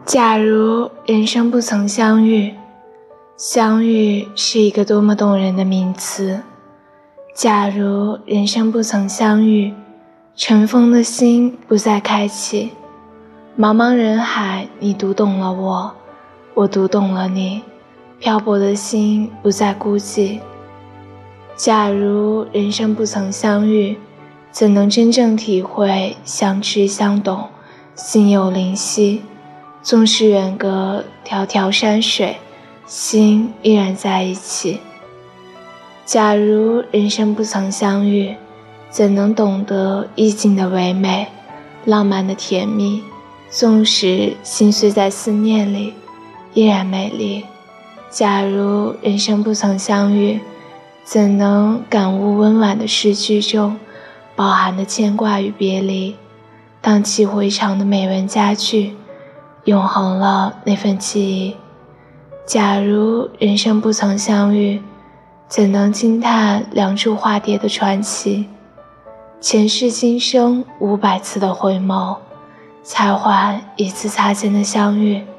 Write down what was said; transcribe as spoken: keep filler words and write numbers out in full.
假如人生不曾相遇，相遇是一个多么动人的名词。假如人生不曾相遇，尘封的心不再开启，茫茫人海，你读懂了我，我读懂了你，漂泊的心不再孤寂。假如人生不曾相遇，怎能真正体会相知相懂，心有灵犀？纵使远隔迢迢山水，心依然在一起。假如人生不曾相遇，怎能懂得意境的唯美，浪漫的甜蜜？纵使心碎在思念里，依然美丽。假如人生不曾相遇，怎能感悟温婉的诗句中饱含的牵挂与别离？荡气回肠的美文佳句，永恒了那份记忆。假如人生不曾相遇，怎能惊叹梁祝化蝶的传奇？前世今生五百次的回眸，才换一次擦肩的相遇。